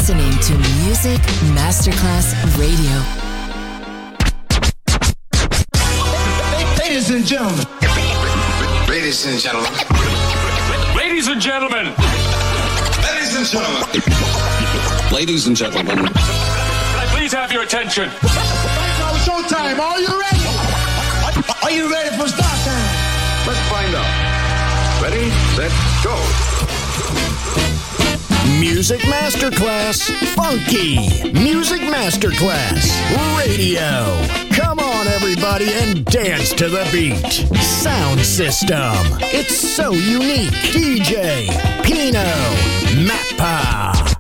listening to Music Masterclass Radio. Ladies and gentlemen. Ladies and gentlemen. Ladies and gentlemen. Ladies and gentlemen. Ladies and gentlemen. Can I please have your attention? Now it's showtime. Are you ready? Are you ready for start time? Let's find out. Ready, set, go. Music Masterclass Funky. Music Masterclass Radio. Come on, everybody, and dance to the beat. Sound system. It's so unique. DJ Pino Mappa.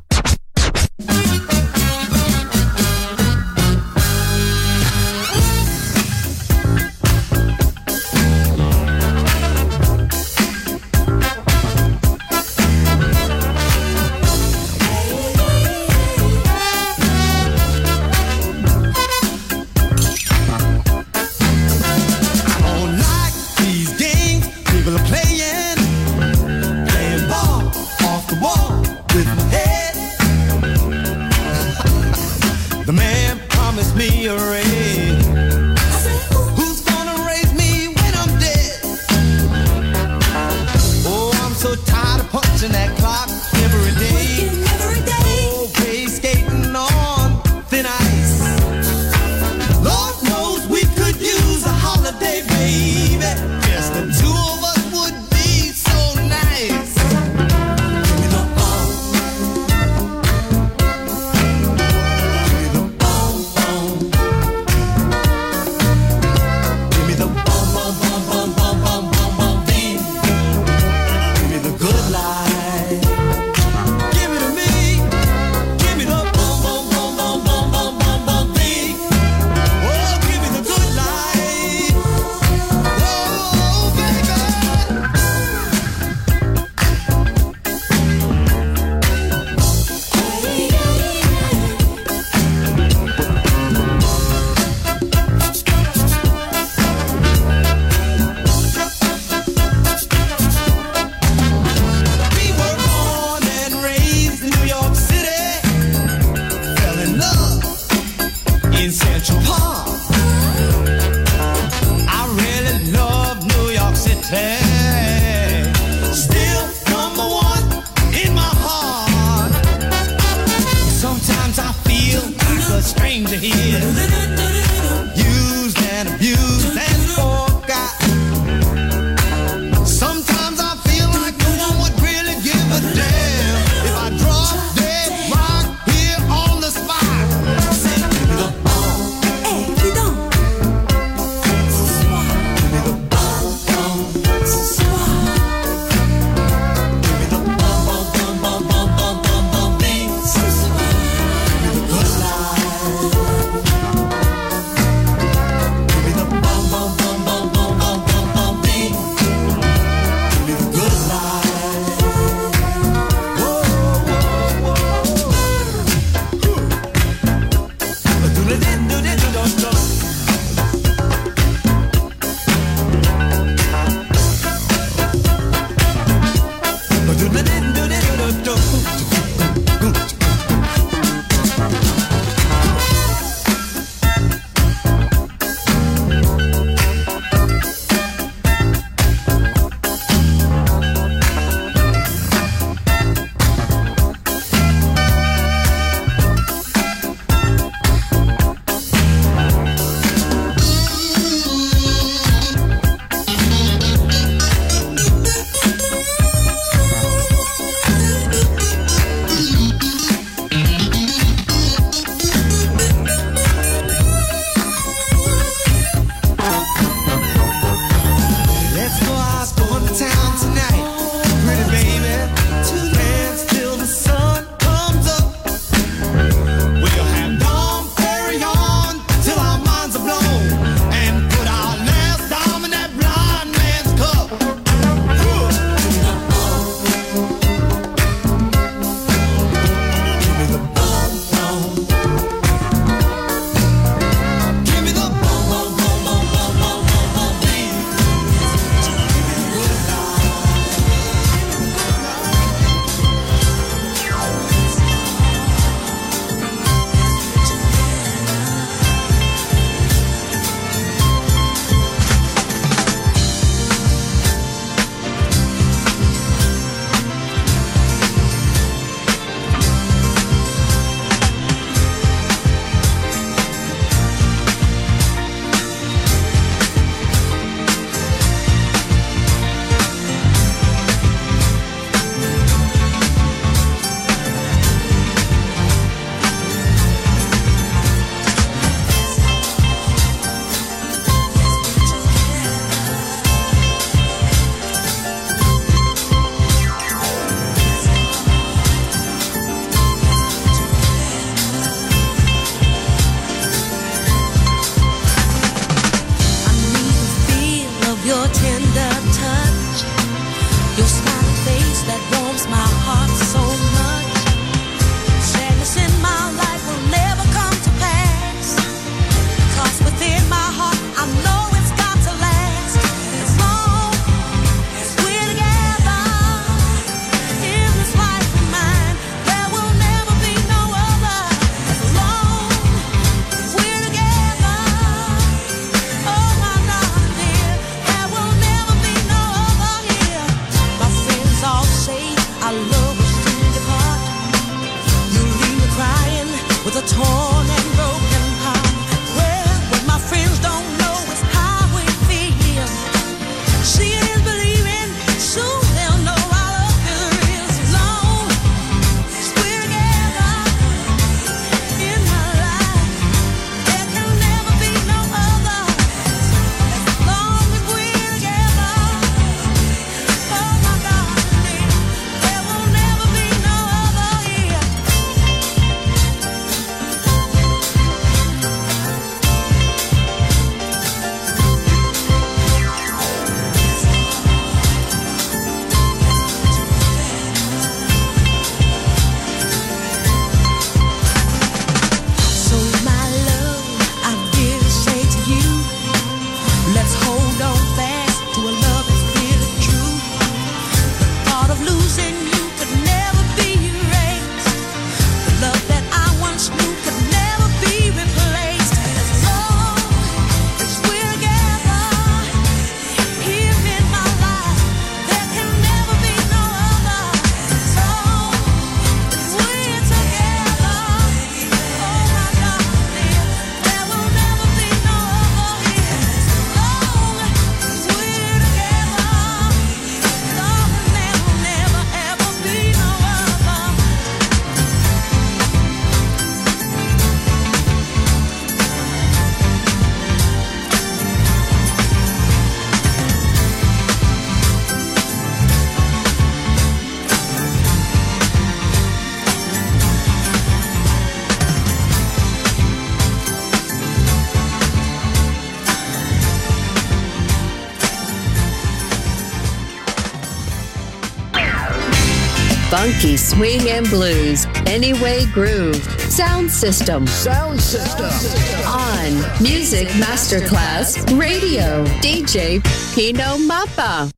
Funky swing and blues, Anyway Groove, Sound System. Sound System. On Music Masterclass Radio, DJ Pino Mappa.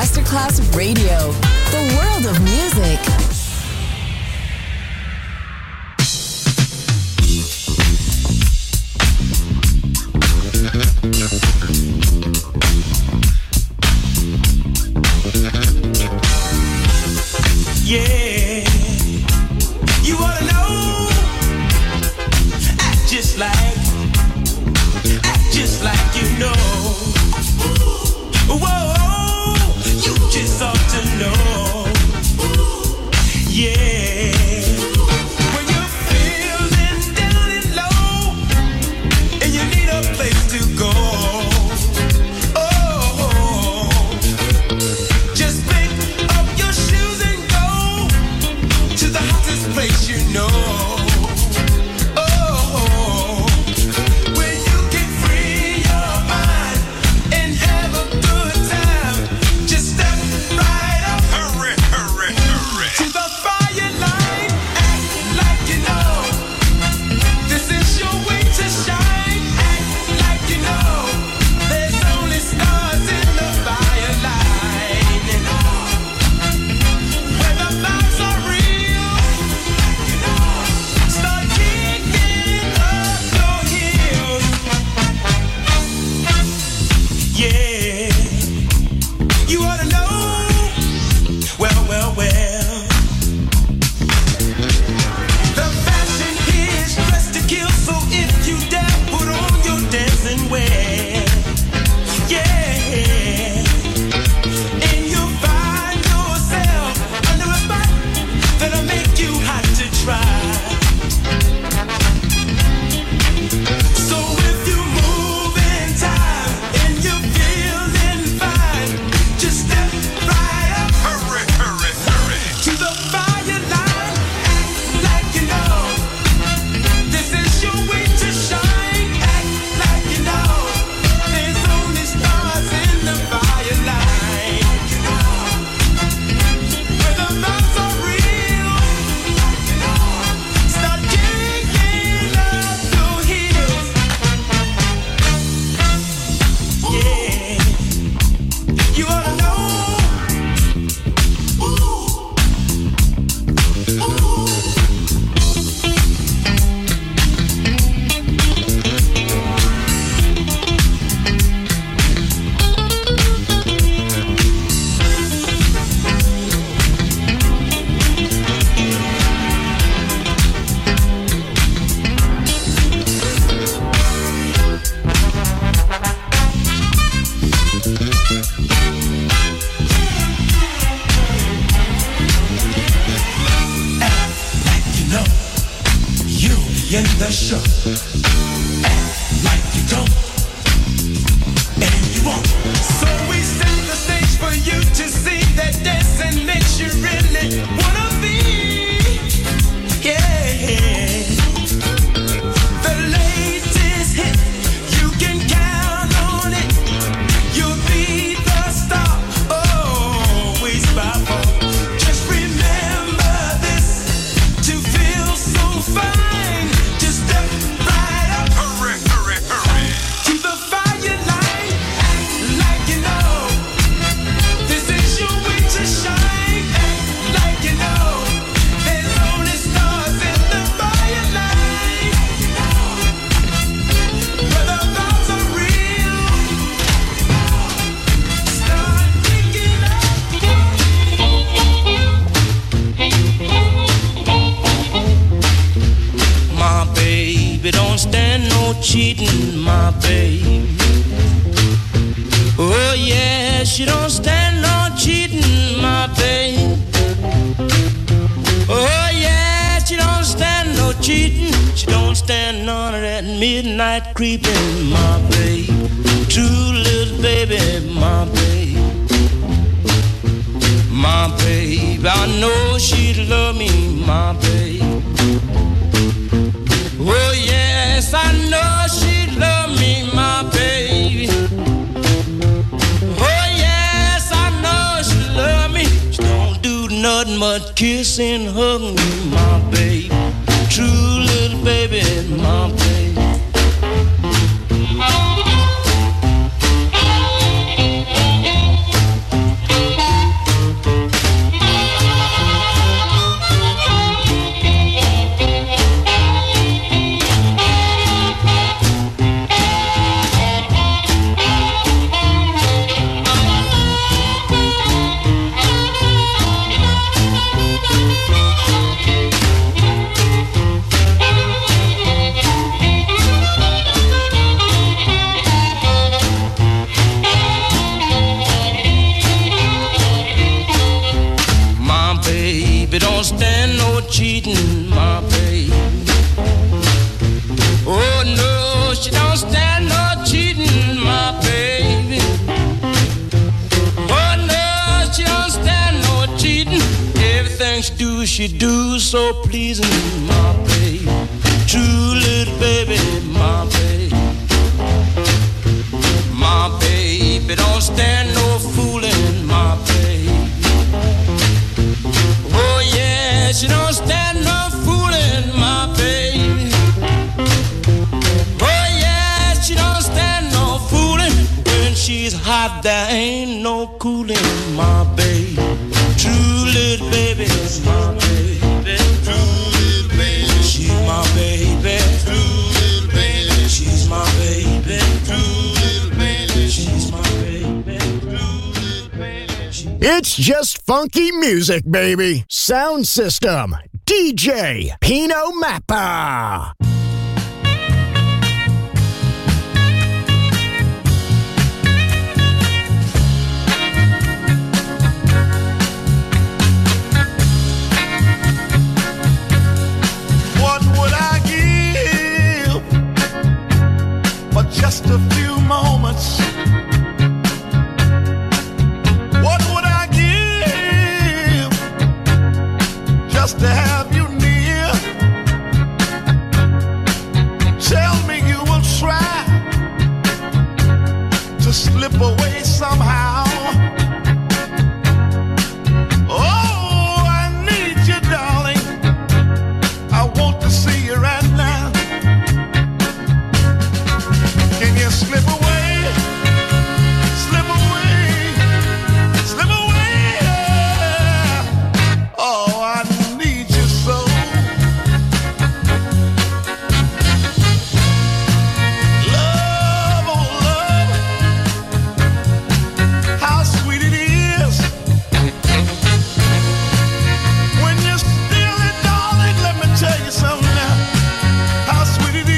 Masterclass Radio, the world of music. Yeah, you wanna know? Act just like you know. Whoa, you just ought to know. Yeah, when you're feeling down and low, and you need a place to go. Oh, just pick up your shoes and go to the hottest place you know. Creeping, my babe, true little baby, my babe, I know she'd love me, my babe. Oh yes, I know she'd love me, my baby. Oh yes, I know she'd love me. She don't do nothing but kiss and hug me, my babe, true little baby, my babe. stand no cheating, my baby. Oh no, she don't stand no cheating, my baby. Oh no, she don't stand no cheating. Everything she do so pleasing, my baby. True little baby, my baby. My baby don't stand no fooling, my baby. Oh yeah, she don't stand no fooling, my baby. Oh yeah, she don't stand no fooling. When she's hot, there ain't no cooling, my baby. True little baby, my baby. True little baby, she's my baby. True little baby, she's my baby. True little baby, she's my baby. True little baby. It's just funky music, baby. Sound System, DJ Pino Mappa. Just a few moments. What would I give just to have you near? Tell me you will try to slip away somehow. Oh, I need you, darling. I want to see you right now. Slip away, slip away, slip away. Oh, I need you so. Love, oh love, how sweet it is when you're still it, darling. Let me tell you something now. How sweet it is.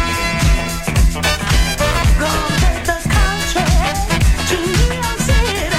Go to the country, to New York City.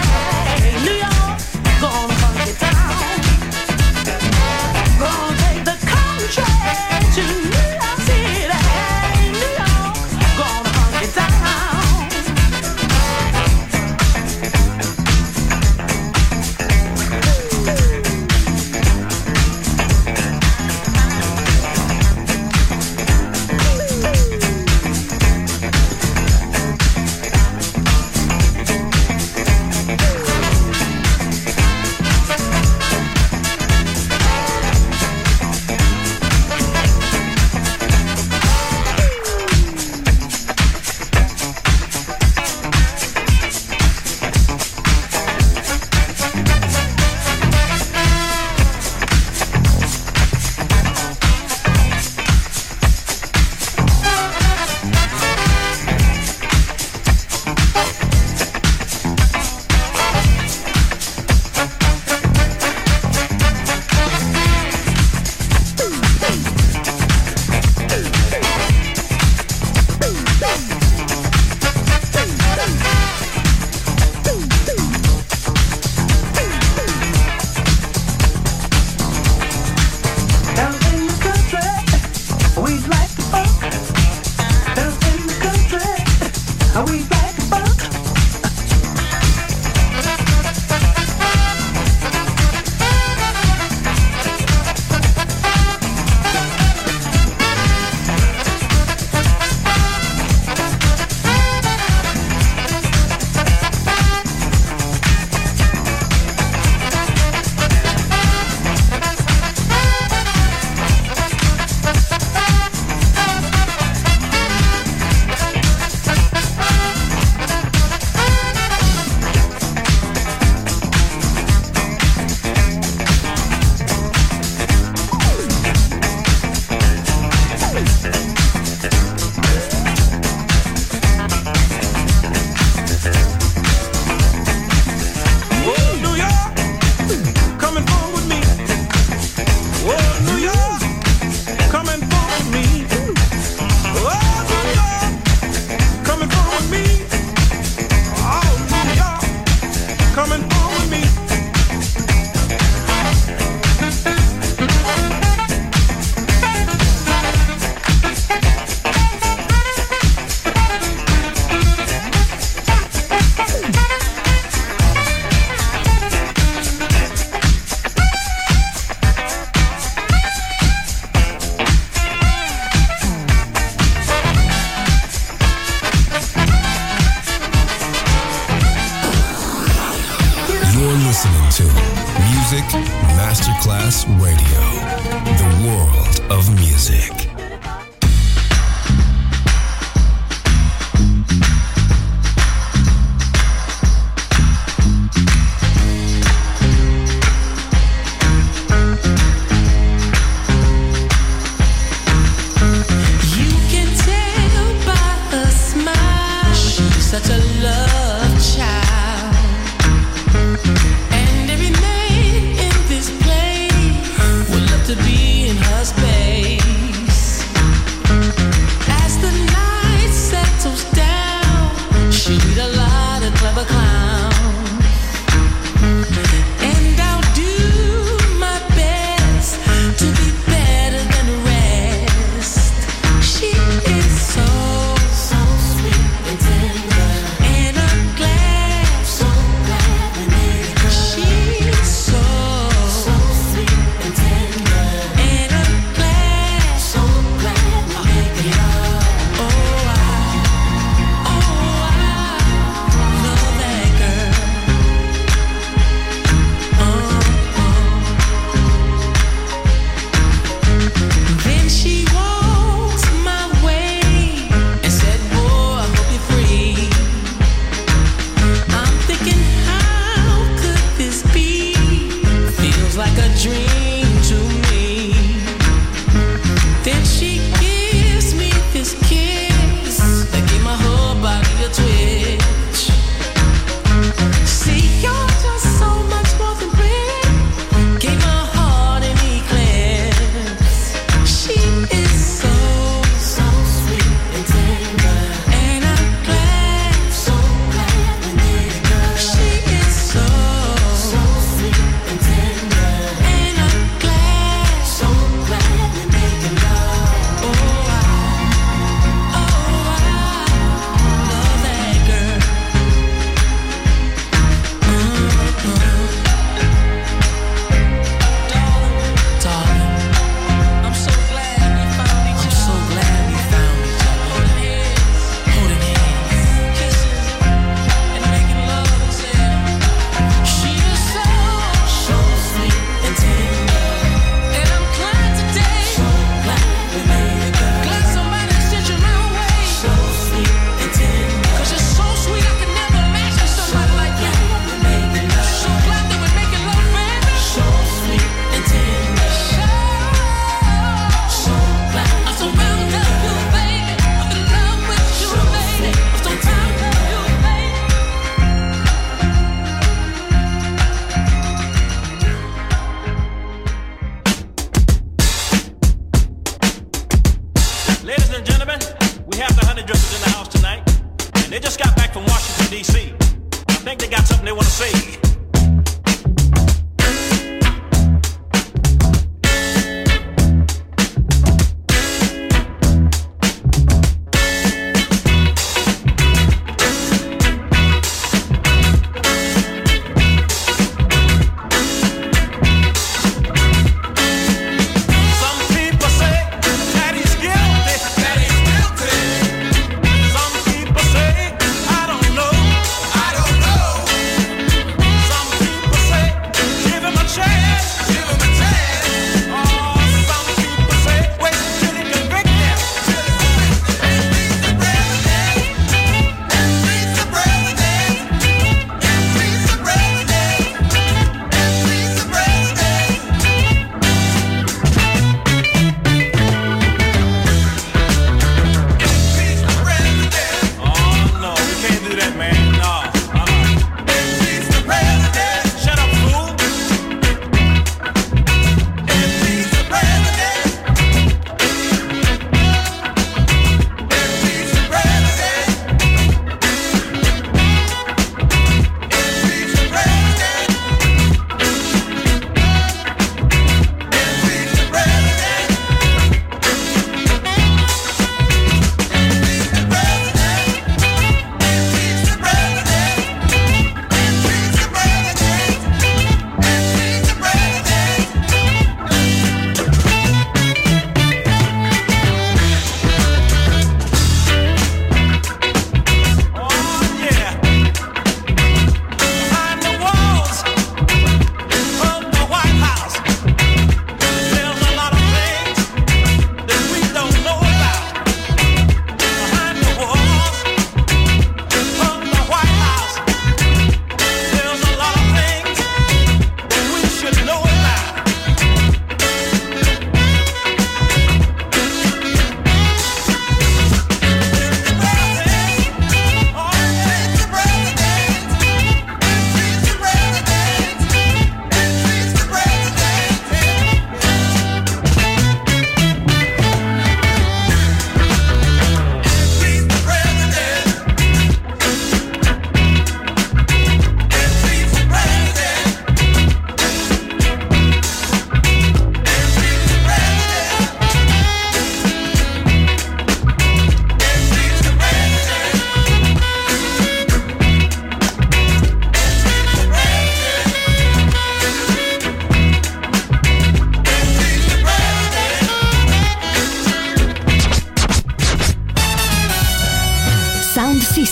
Masterclass Radio, the world of music. Such a love child, and every night in this place would love to be in her space. As the night settles down, she'll meet a lot of clever clowns, and I'll do my best to be better than the rest. She is so sweet and tender.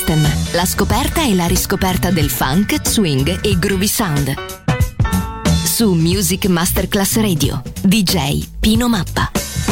System, la scoperta e la riscoperta del funk, swing e groovy sound. Su Music Masterclass Radio, DJ Pino Mappa.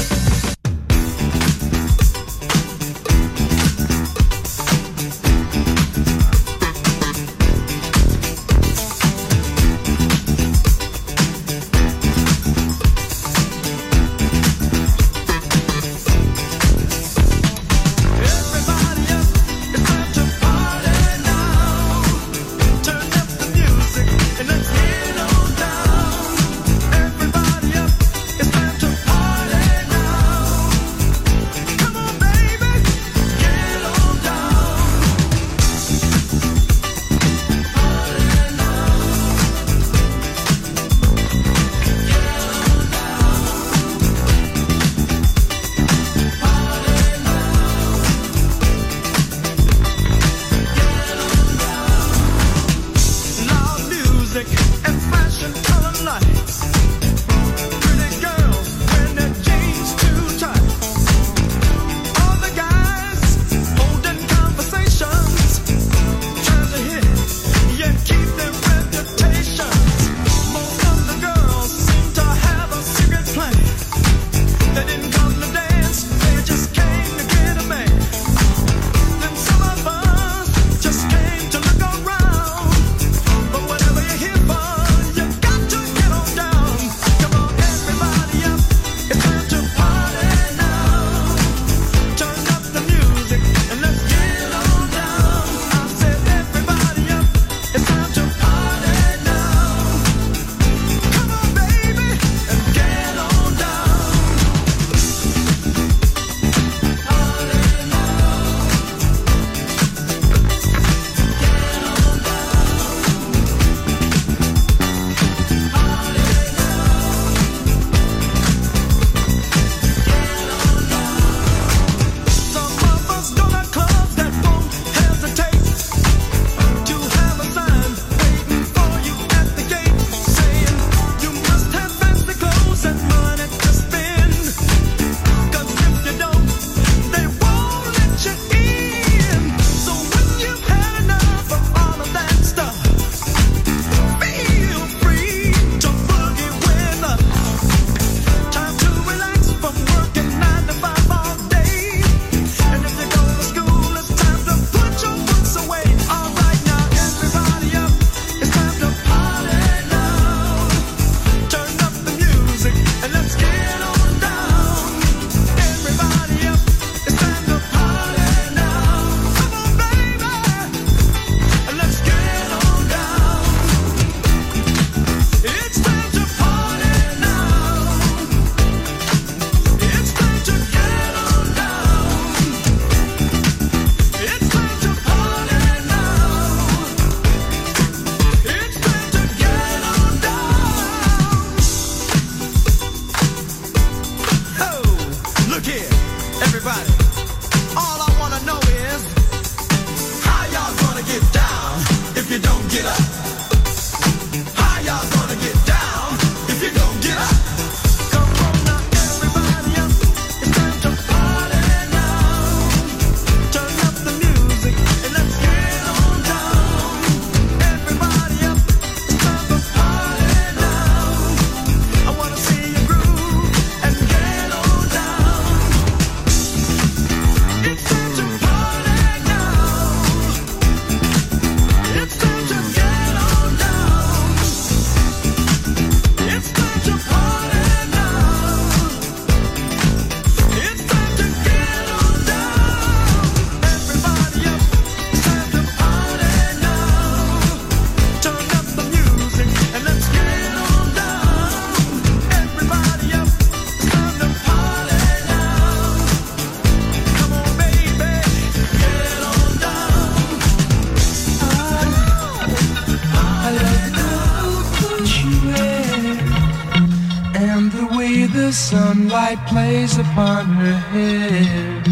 the sunlight plays upon her hair.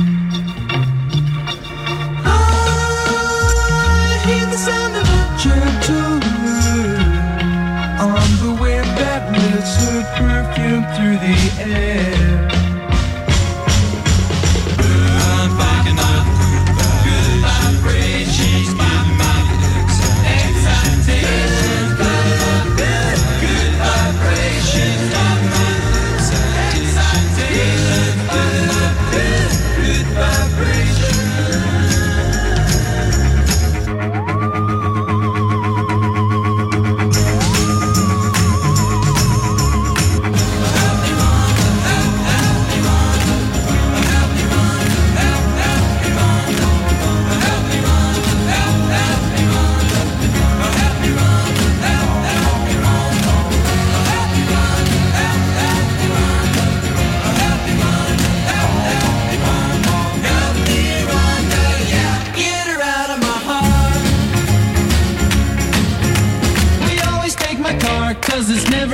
I hear the sound of a gentle word on the wind that lifts her perfume through the air. I'm picking up good vibrations.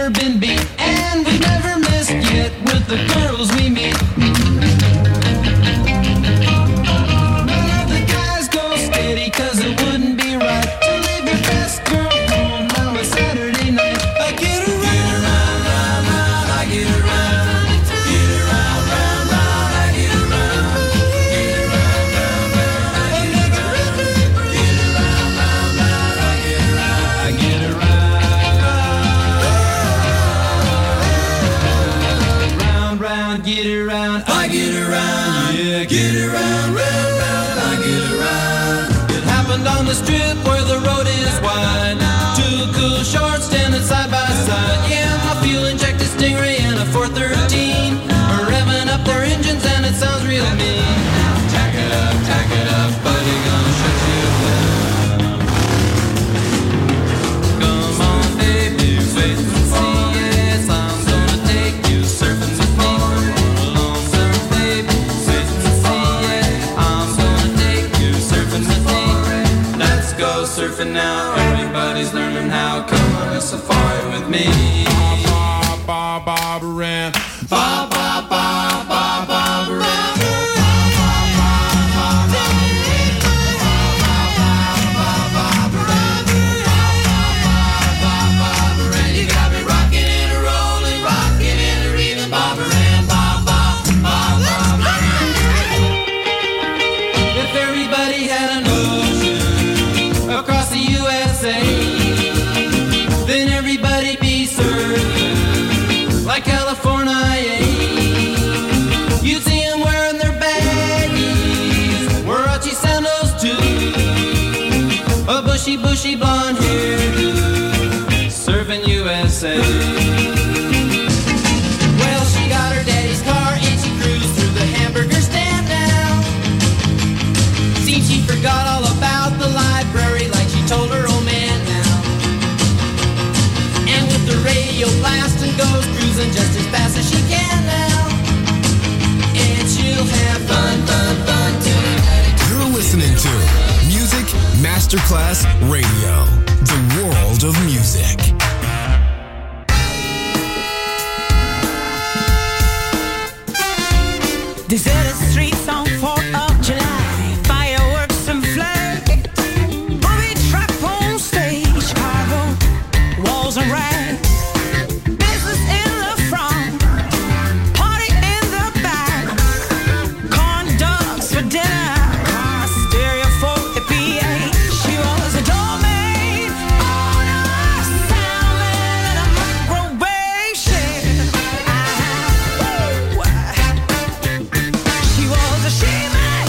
never been beat, and we've never missed yet with the girls we meet. None of the guys go steady, cause it wouldn't be right to leave your best girl home on a Saturday night. I get around, round, round, round, I get around. Get around, round, round, I get around. Get around, round, round, I get around. Get around, round, round, I get around. I get around. Round, round, get around. I get around. Yeah, get around, round, round, I get around. It happened on the strip where the road is wide. Two cool shorts standing side by side. Yeah, my fuel injected Stingray and a 413 are revving up their engines and it sounds real mean. Tack it up, buddy, gonna shut you down. Come on, baby, wait and see. Yes, I'm gonna take you surfing with me. Come along, surf, baby, wait and see. Yeah, I'm gonna take you surfing with me. Let's go surfing now. Everybody's learning how. Come on a safari with me. Ba ba ba ran. Ba ba ba ba ba ran. You got me rocking and a rolling, rocking and a reeling, Bob Ran, ba ba ba ba. If everybody had an ocean across the USA, then everybody'd be surfing like California. You'd see them wearing their baggies, Warachi sandals too, a bushy, bushy blonde hairdo, surfing USA. Well, she got her daddy's car and she cruised through the hamburger stand now. Seems she forgot all about the library like she told her old man now. And with the radio blasting goes cruising just as fast as she can now. And she'll have fun, fun, fun tonight. You're listening to Music Masterclass Radio, the world of music. Deserted streets on 4th of July, fireworks and flags, booby trap on stage, Chicago, walls and rags, business in the front, party in the back, corn dogs for dinner, car stereo for the PA. She was a doormaid on a salmon and a microwave shed. She was a she-maid,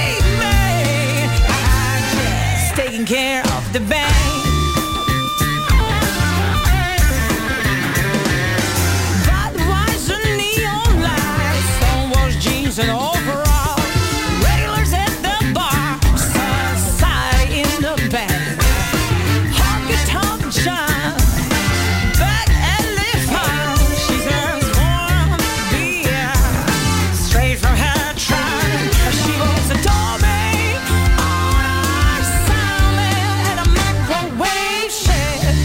just taking care of the bank. Budweiser neon lights, Stonewall's jeans and overalls, regulars at the bar, society in the back, honky-tonk John, back at Live Farm. She serves warm beer, straight from her trunk. She was a doormaid on a salmon and a microwave shed.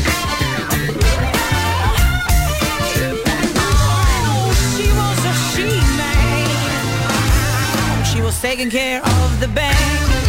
Oh, she was a she-maid. She was taking care of the bank.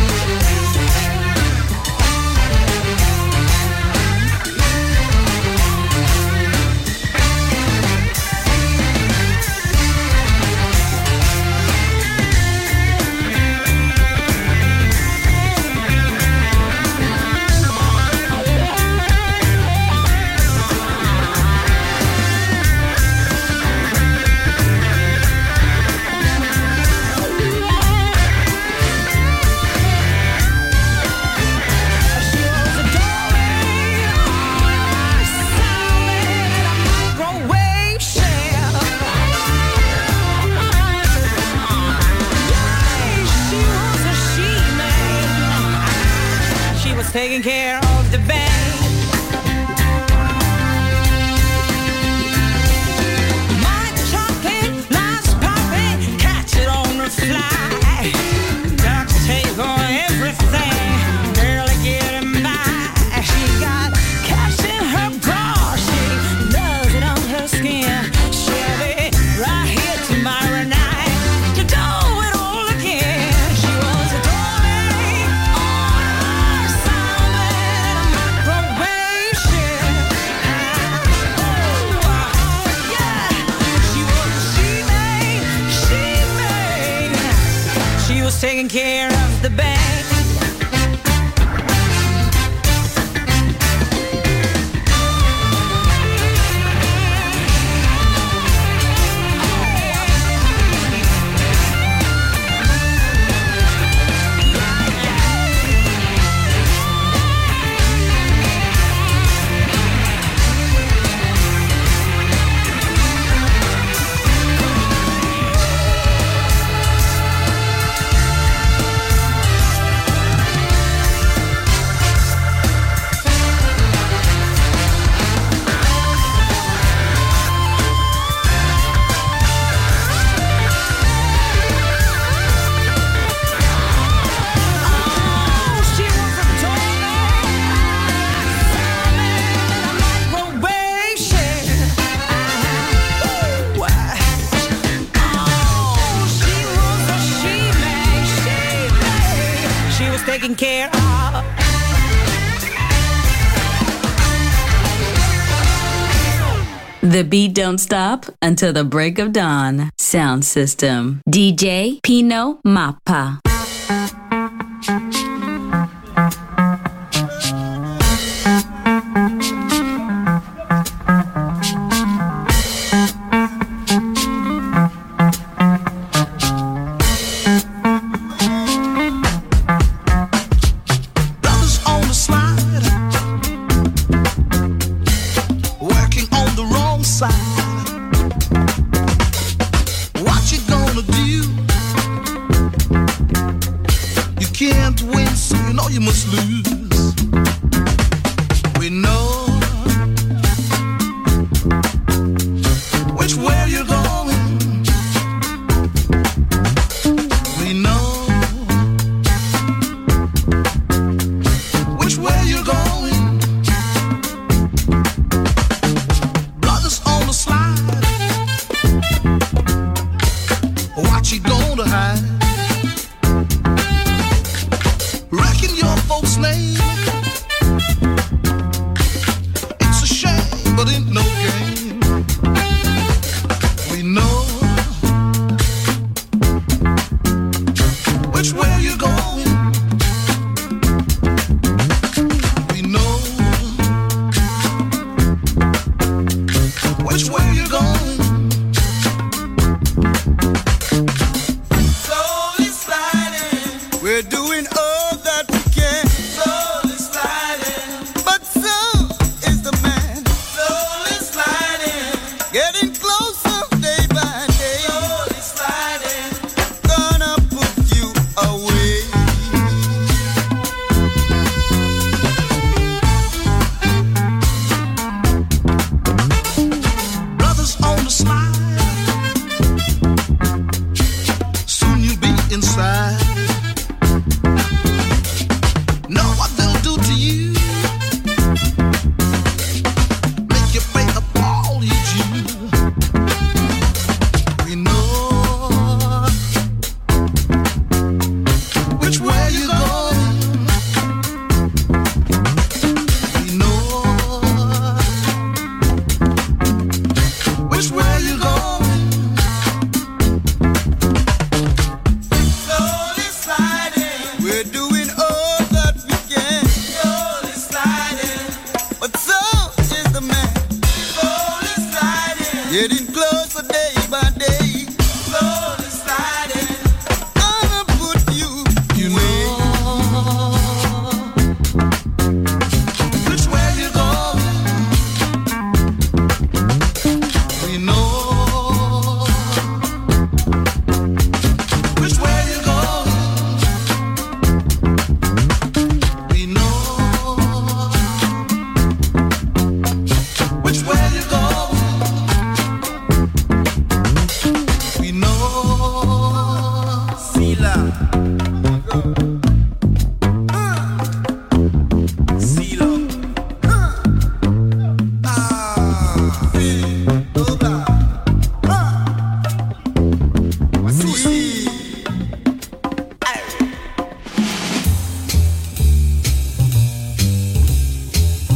Taking care of the bank. My chocolate, nice poppy, catch it on the fly. Ducks take on everything, barely getting by. She got cash in her bra, she does it on was taking care of the band. Taking care of. The beat don't stop until the break of dawn. Sound system. DJ Pino Mappa.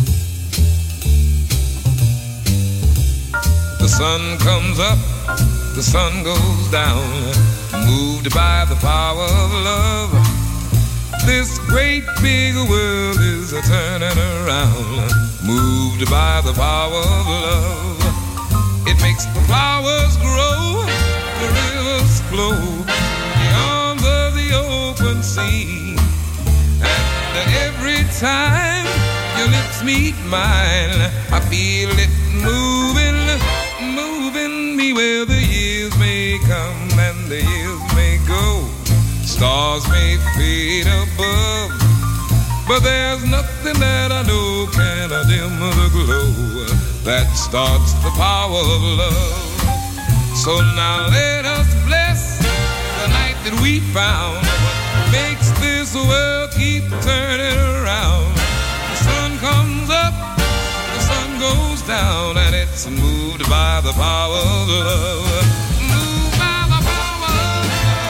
sun comes up the sun goes down, moved by the power of love. This great big world is a turning around, moved by the power of love. It makes the flowers grow, the rivers flow, beyond the open sea. And every time your lips meet mine, I feel it moving, moving me where the years may come and the years may go. Stars may fade above, but there's nothing that I know can dim the glow that starts the power of love. So now let us bless the night that we found, makes this world keep turning around. The sun comes up, the sun goes down, and it's moved by the power of love. Moved by the power of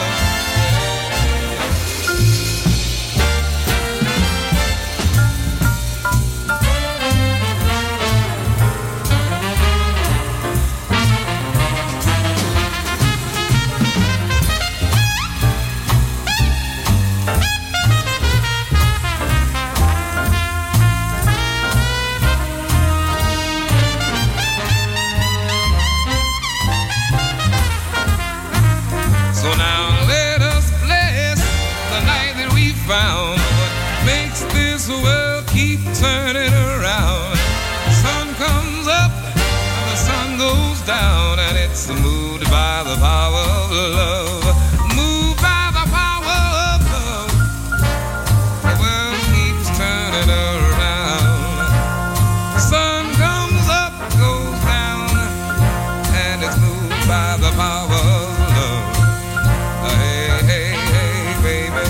found. What makes this world keep turning around? The sun comes up and the sun goes down, and it's moved by the power of love. Moved by the power of love. The world keeps turning around. The sun comes up, goes down, and it's moved by the power of love. Hey, hey, hey, baby.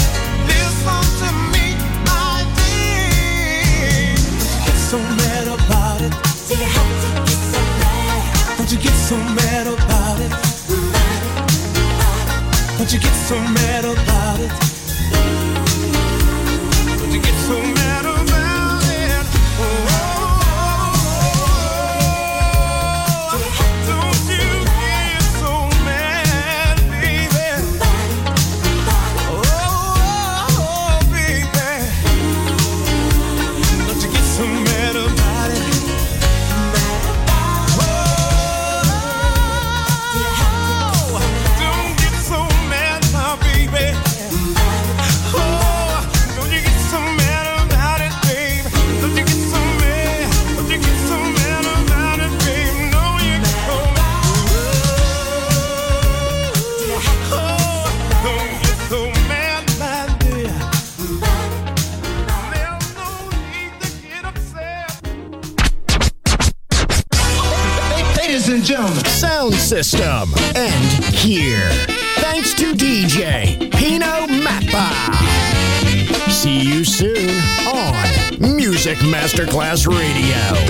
So mad about and gentlemen. Sound system. And here. Thanks to DJ Pino Mappa. See you soon on Music Masterclass Radio.